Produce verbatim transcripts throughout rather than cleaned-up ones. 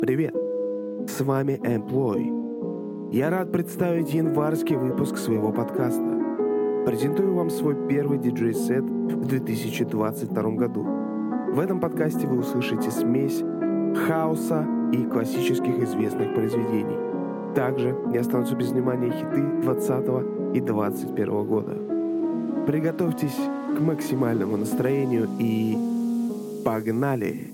Привет! С вами Employ. Я рад представить январский выпуск своего подкаста. Презентую вам свой первый диджей-сет в две тысячи двадцать втором году. В этом подкасте вы услышите смесь хаоса и классических известных произведений. Также не останутся без внимания хиты двадцатого и двадцать первого года. Приготовьтесь к максимальному настроению и погнали!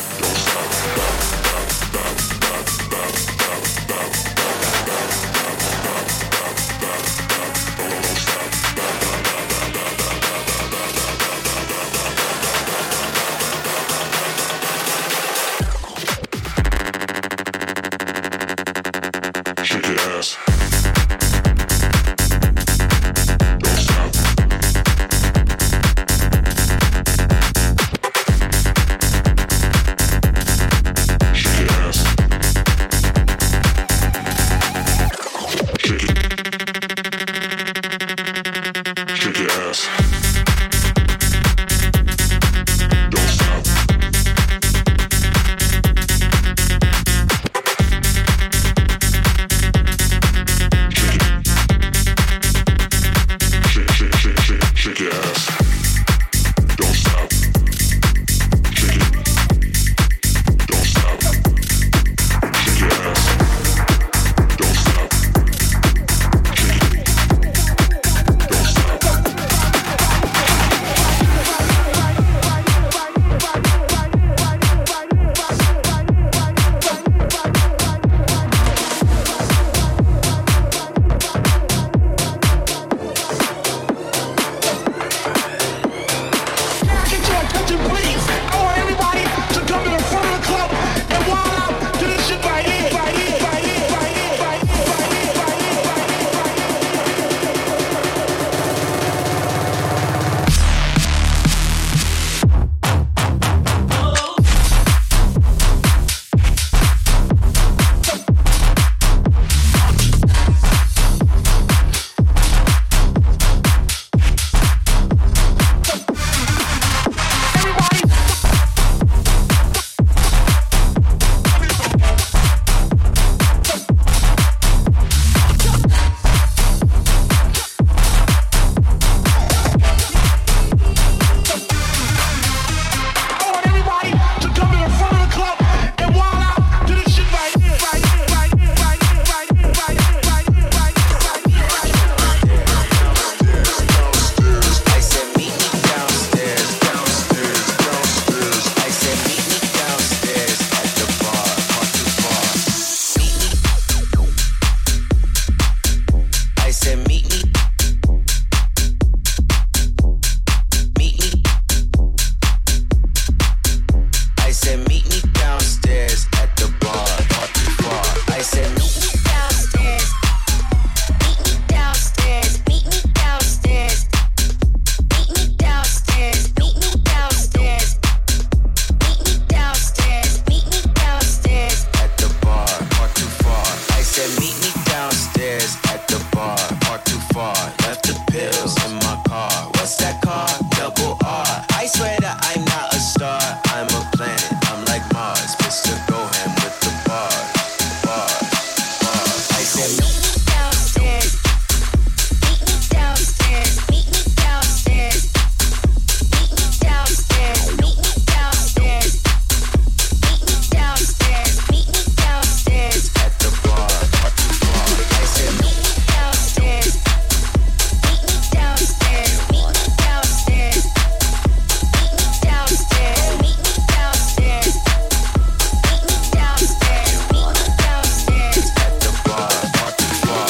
said, meet me downstairs at the bar. Not too far. I said, meet me downstairs. Meet me downstairs. Meet me downstairs. Meet me downstairs. Meet me downstairs. Meet me downstairs. Meet me downstairs at the bar. Not too far. I said, meet me downstairs at the bar. Not too far. Left the pills in my car. What's that car? Double R. I swear that I'm not a star. I'm a planet. I'm like Mars. Mister Gohan with the bars. Bars. Bars. I said, meet me downstairs. Meet me downstairs. Meet me downstairs. Meet me downstairs. Meet me downstairs. Meet me downstairs. Meet me downstairs at the bar. Not too far. I said, meet me downstairs. Meet me downstairs. Meet me downstairs. Meet me downstairs. Meet me downstairs. Meet me downstairs. Meet me downstairs at the bar. Not too far.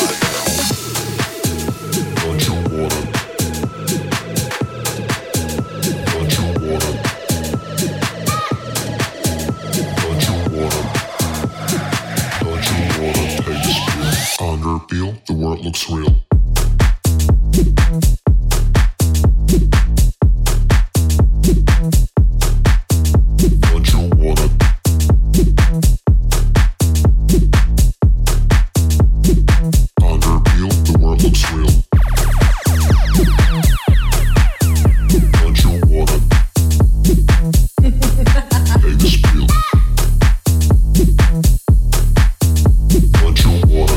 Don't you wanna? Don't you wanna? Don't you wanna? Don't you wanna take this pill? Under peel, the world looks real. Don't you wanna? Under peel, the world looks real. Don't you wanna? Take this pill. Don't you wanna?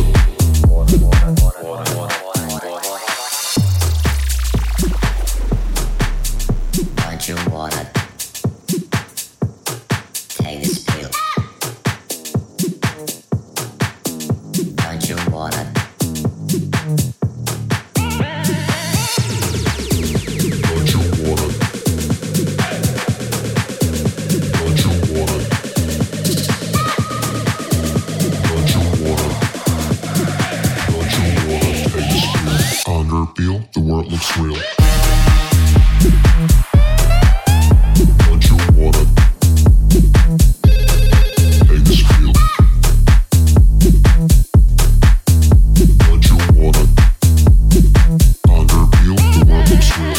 Don't you wanna take this pill? Don't you wanna? Don't you wanna? Don't you wanna? Don't you wanna? Don't you wanna take this pill? Under peel, the world looks real. Don't you wanna? Take this pill. Don't you wanna? Under peel, the world looks real.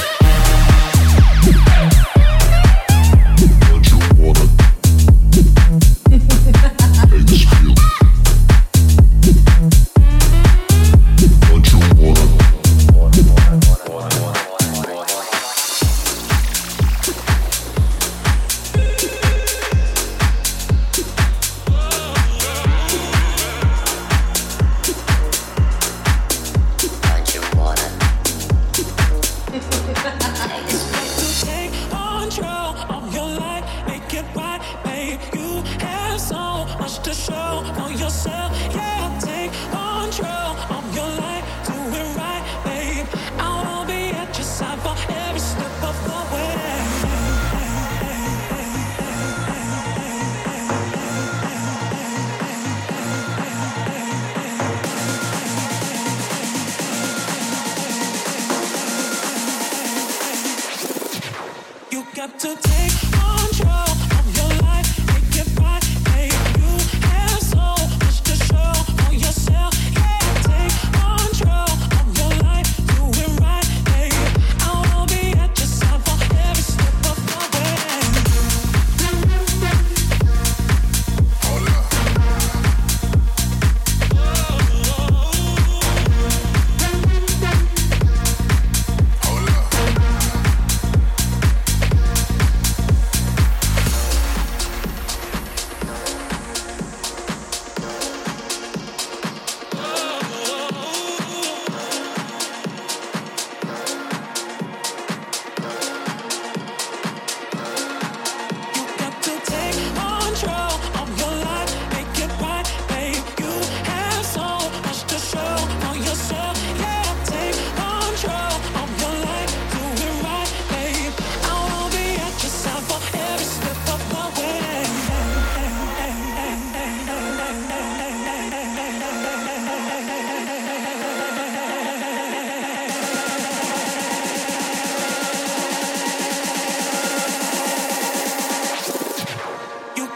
Don't you wanna? Take this pill. Don't you wanna?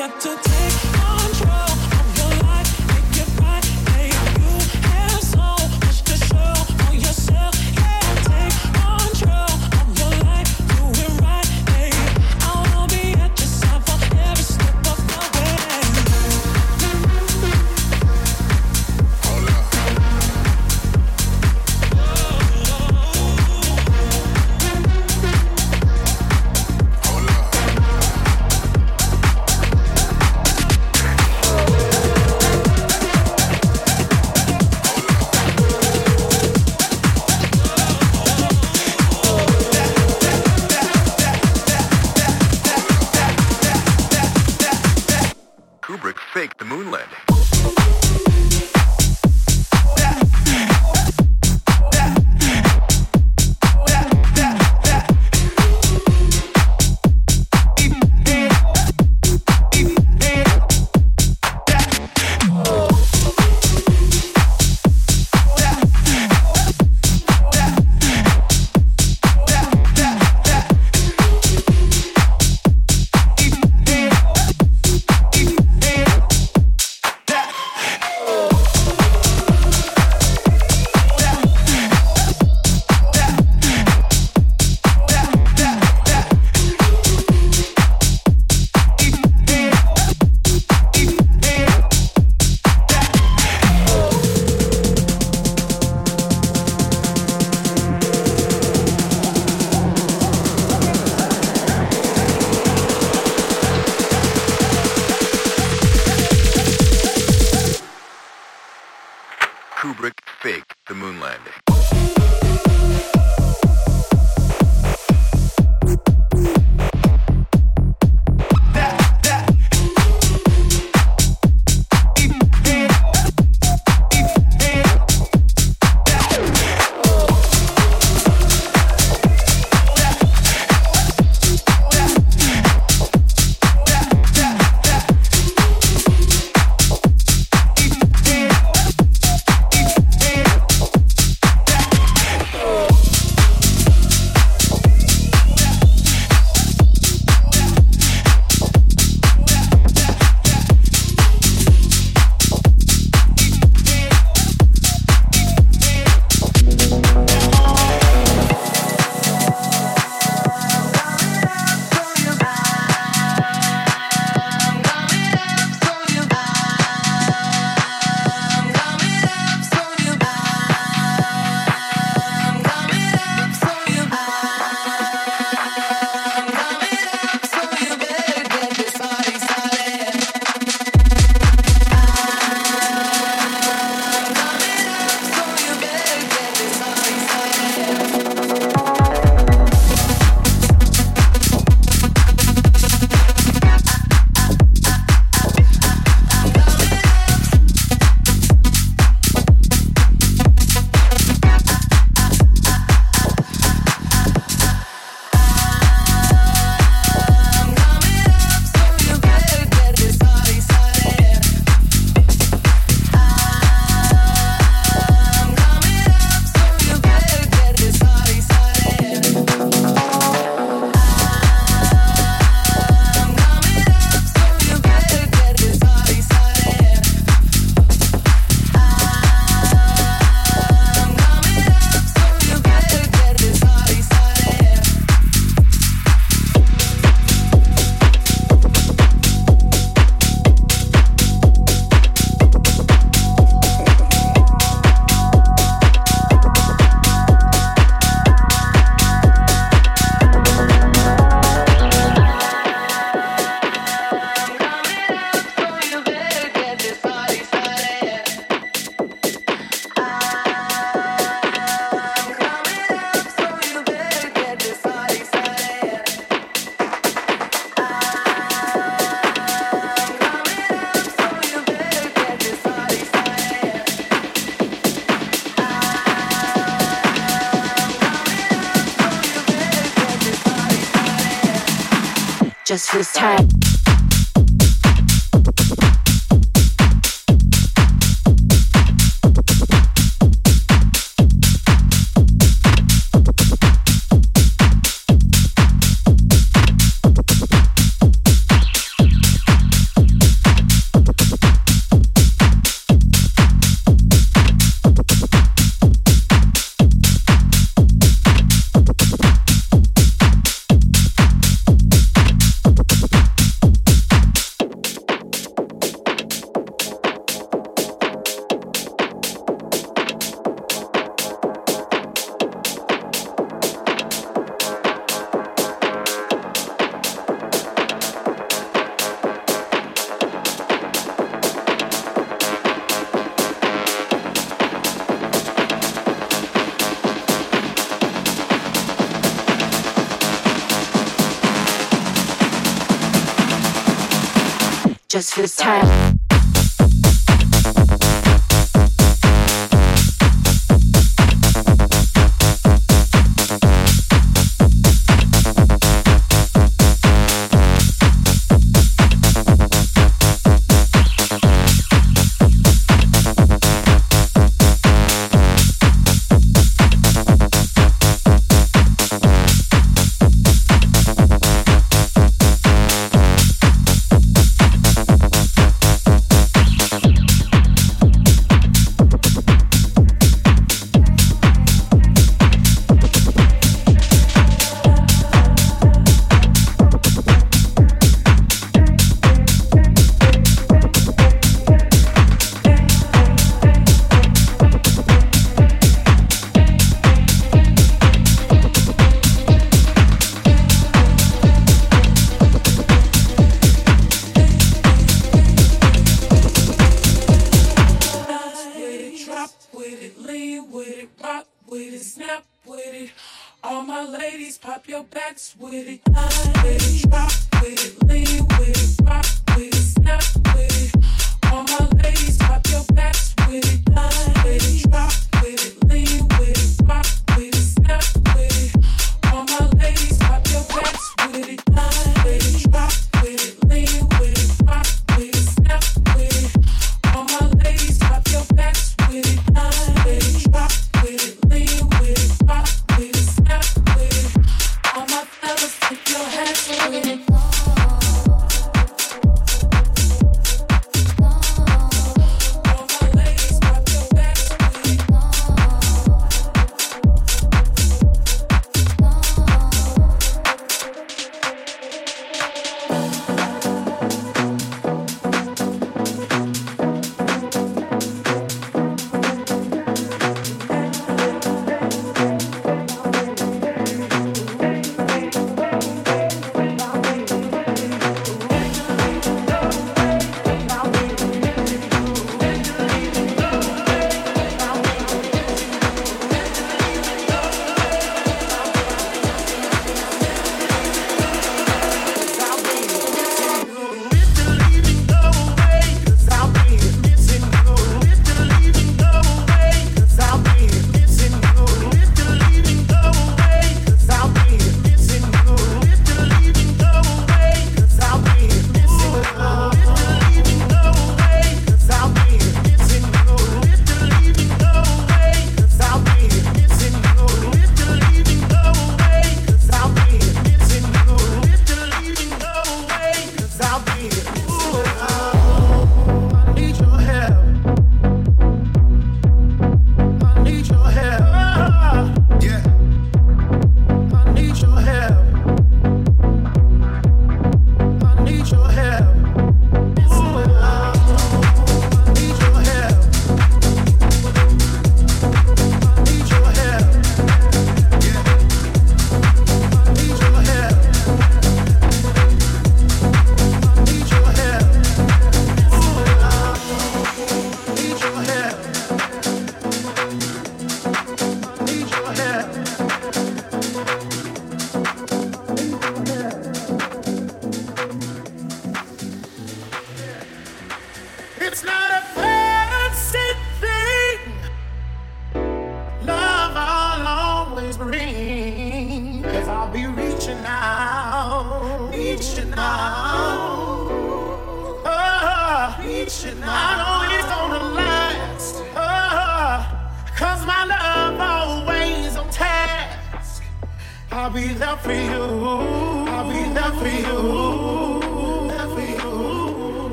just this time. just for this time.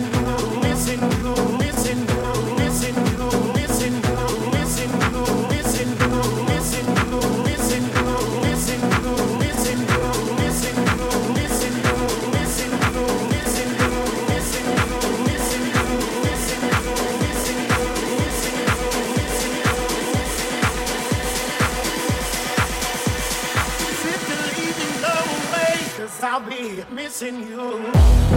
Missing you, missing you, missing you, missing you, missing you. I'll be missing you.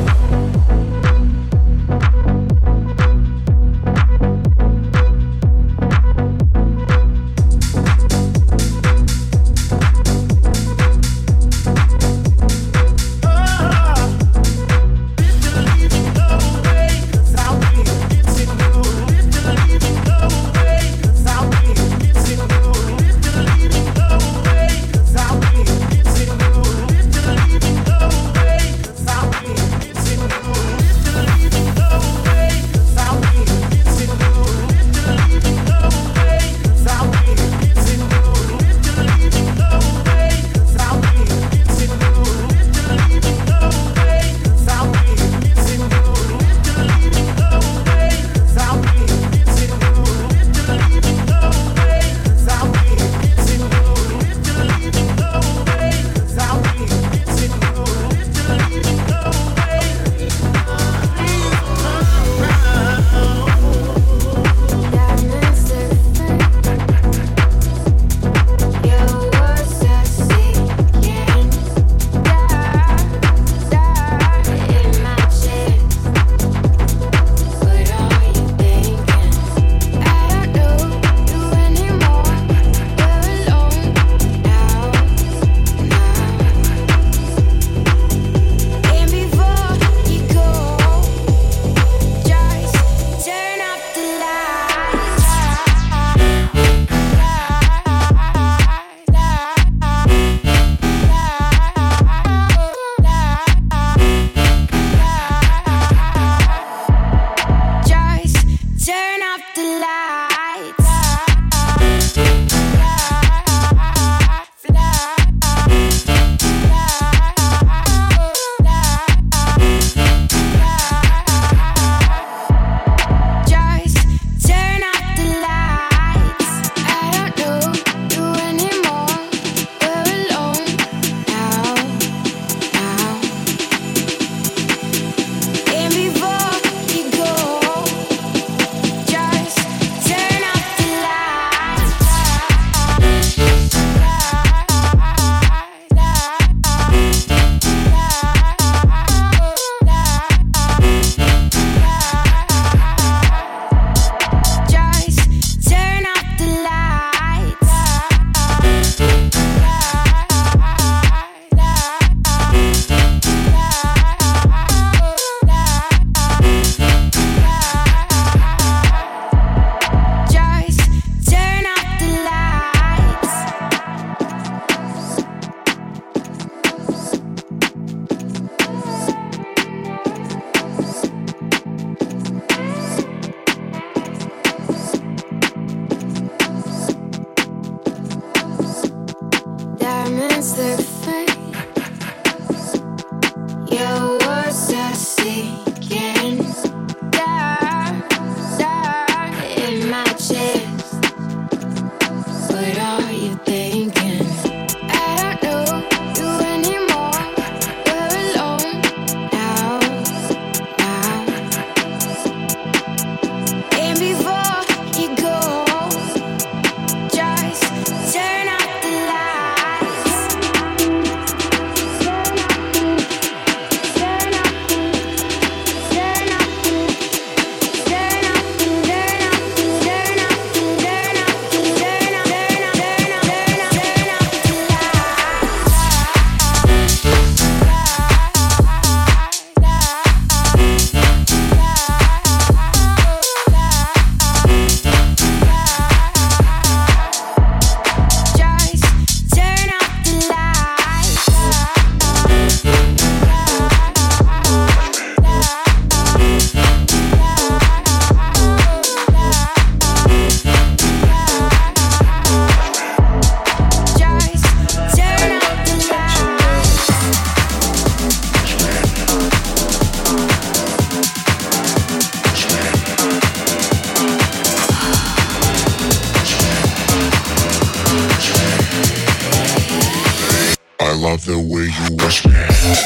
love the way you wash me.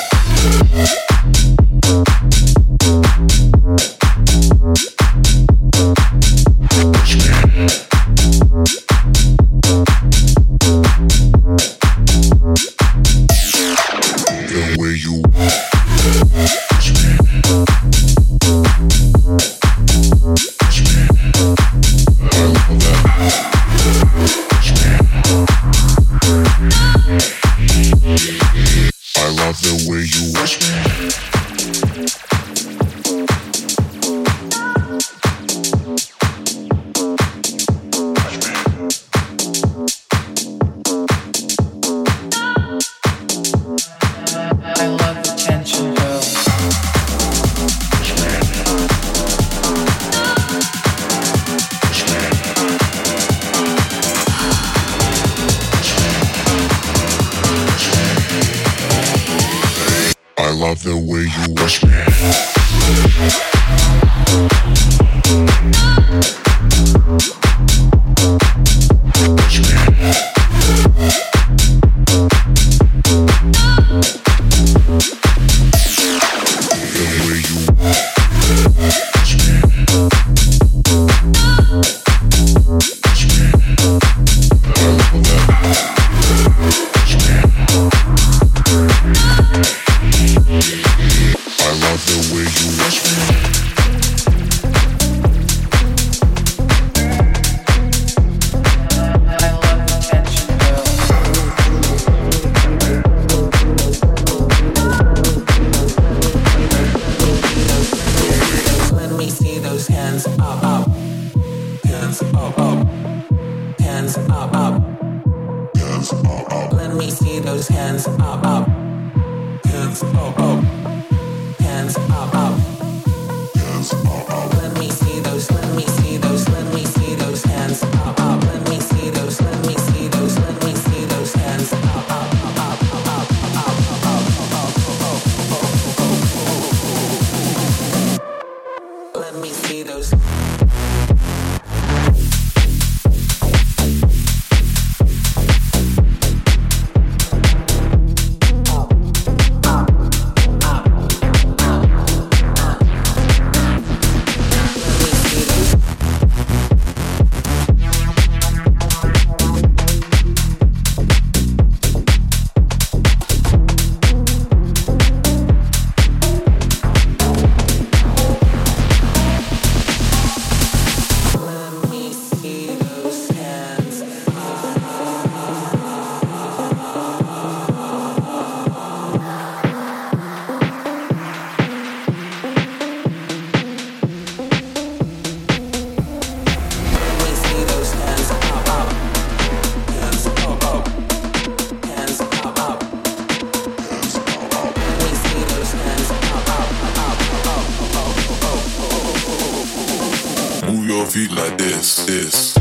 Wash me. The way you love the way you watch me. Watch me. The way you watch me. Watch me. I love that. Watch me. I love the way you watch me. Feet like this, this.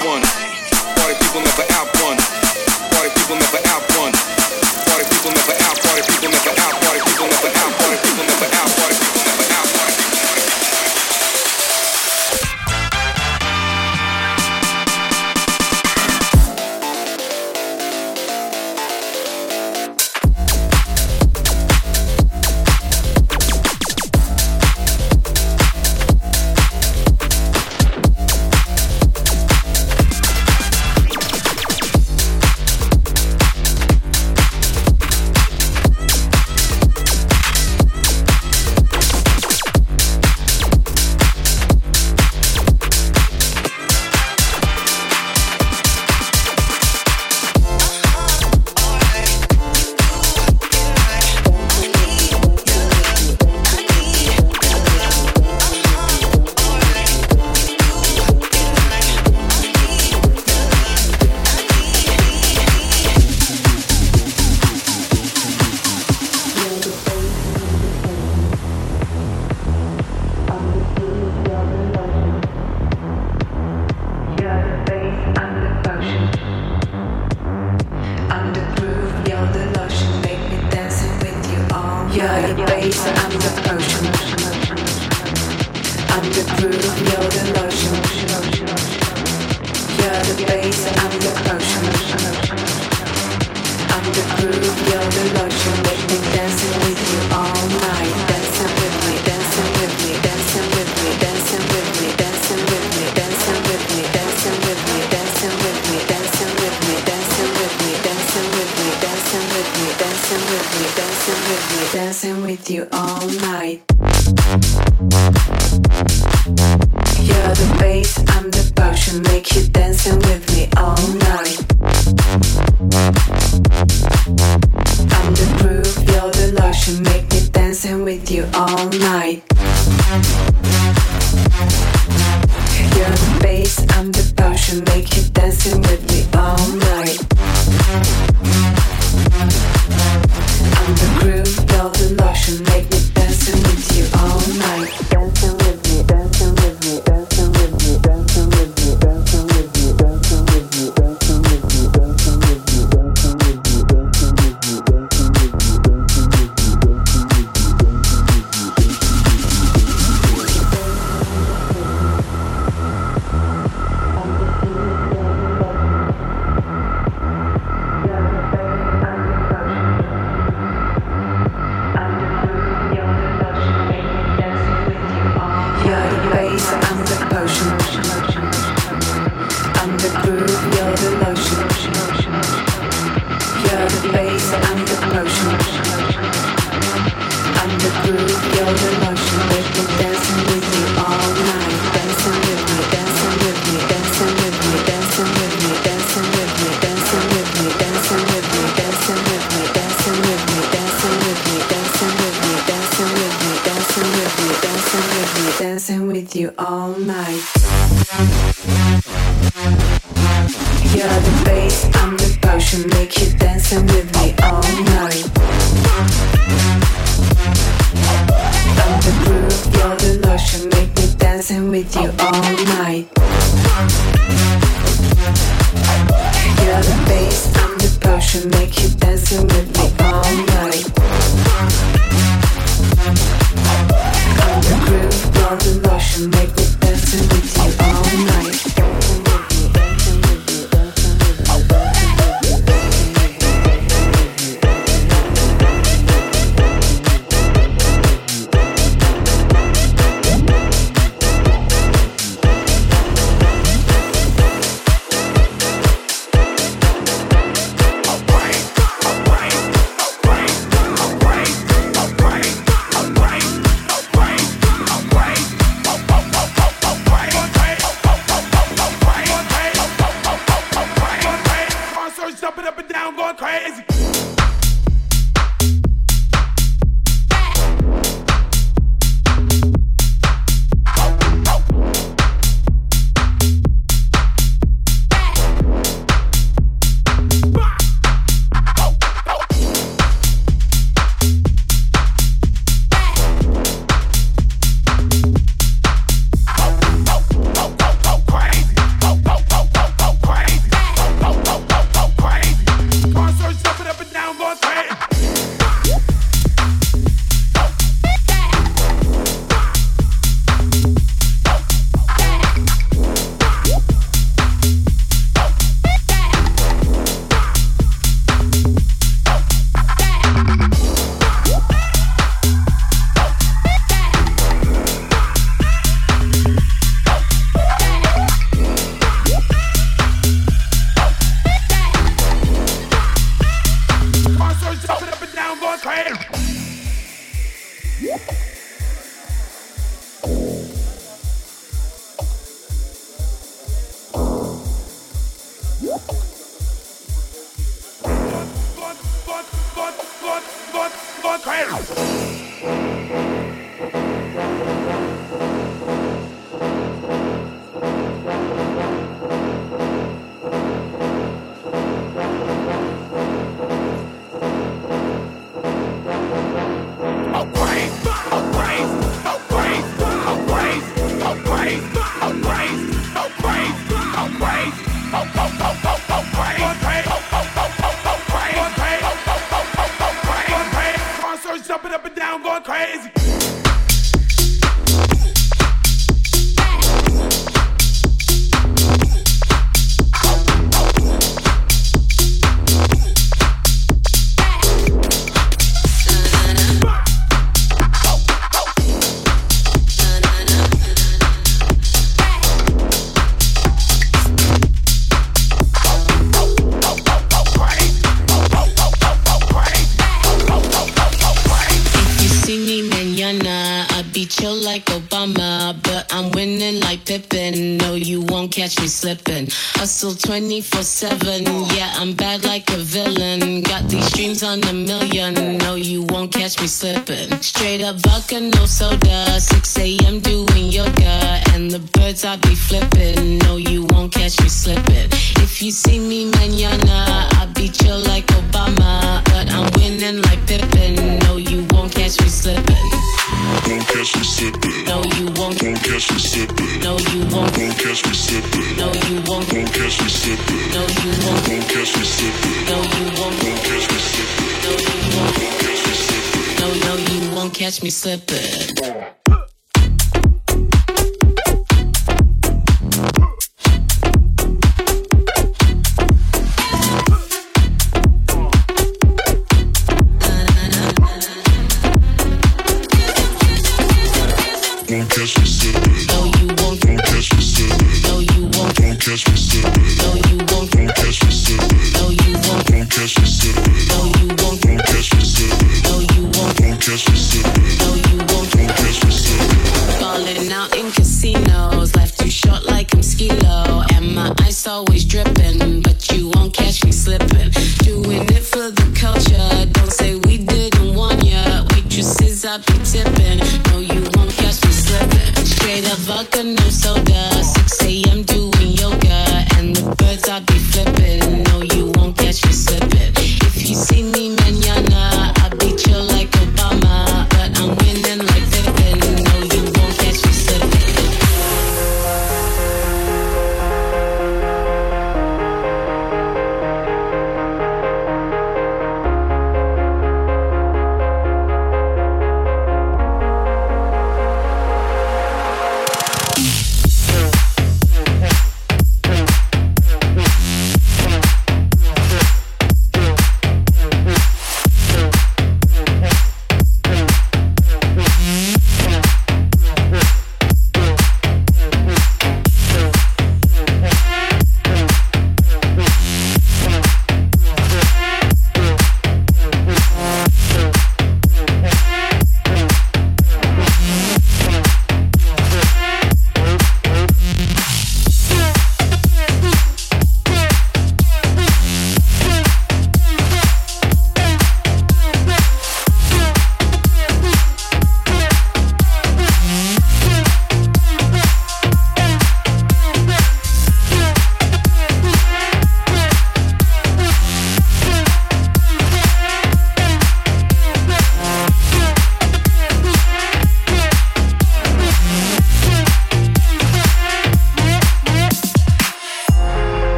one. Party people never out one. Party people never out one. Party people never out. Party people never out. Party people never out. Party people never out. Party people never out. Party people never out. Dancing Jumping up and down, going crazy. Chill like Obama, but I'm winning like Pippen. No, you won't catch me slipping. Hustle twenty-four seven, yeah, I'm bad like a villain. Got these dreams on a million. No, you won't catch me slipping. Straight up vodka, no soda. six a.m. doing yoga, and the birds I be flipping. No, you won't catch me slipping. If you see me mañana, I'll be chill like Obama, but I'm winning like Pippen. No, you won't catch me slipping. Won't catch me slipping. No, you won't. Won't catch me slipping. No, you won't. Won't catch me slipping. No, you won't. Won't catch me slipping. No, you won't. Won't catch me slipping. No, you won't. Won't catch me slipping. No, you won't. Won't catch me slipping. No, no, you won't catch me slipping. Won't catch me slipping. No, you won't. Won't catch me slipping. No, you won't. Won't catch me slipping. No, you won't. Won't catch me slipping. No, you won't. Won't catch me slipping. No, you won't. Won't catch me slipping. No, you won't. Won't catch me slipping. No, you won't. Won't catch me slipping. Falling out in casinos, life too short like I'm Skilo, and my ice always dripping, but you won't catch me slipping. Doing it for the culture, don't say we didn't want ya. Waitresses I be tipping, no, you won't catch me slipping. Straight up vodka, no soda, six a.m. doing yoga, and the birds I be flipping. No, you won't catch me slipping. If you see me